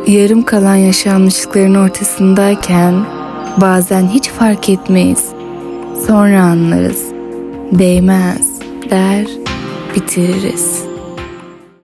Yarım kalan yaşanmışlıkların ortasındayken bazen hiç fark etmeyiz. Sonra anlarız. Değmez der, bitiririz.